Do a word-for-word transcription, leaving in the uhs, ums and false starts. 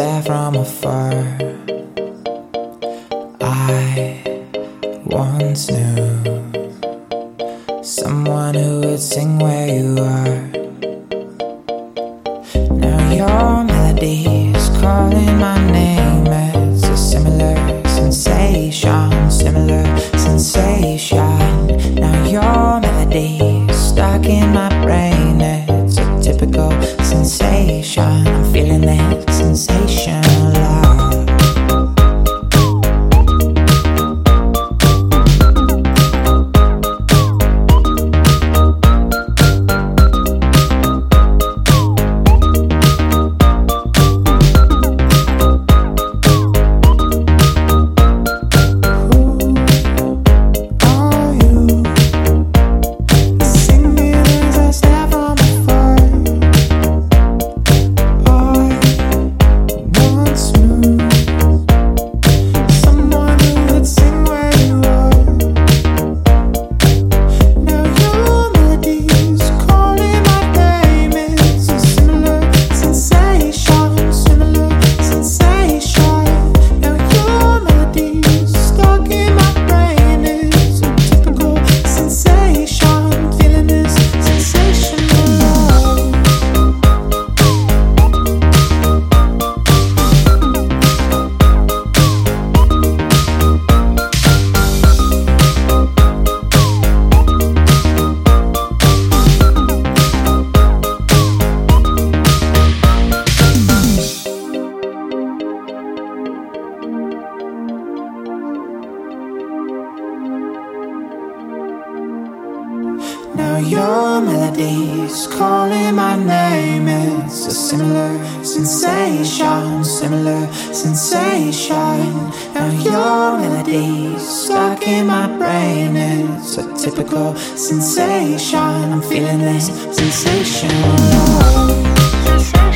stare from afar. I once knew someone who would sing where you are. Now your melody is calling my name. It's a similar sensation, similar sensation. Now your melody is stuck in my brain. It's a typical sensation. I'm feeling that sensation a lot. Now your melody's calling my name. It's a similar sensation, similar sensation. Now your melody's stuck in my brain. It's a typical sensation. I'm feeling this sensation.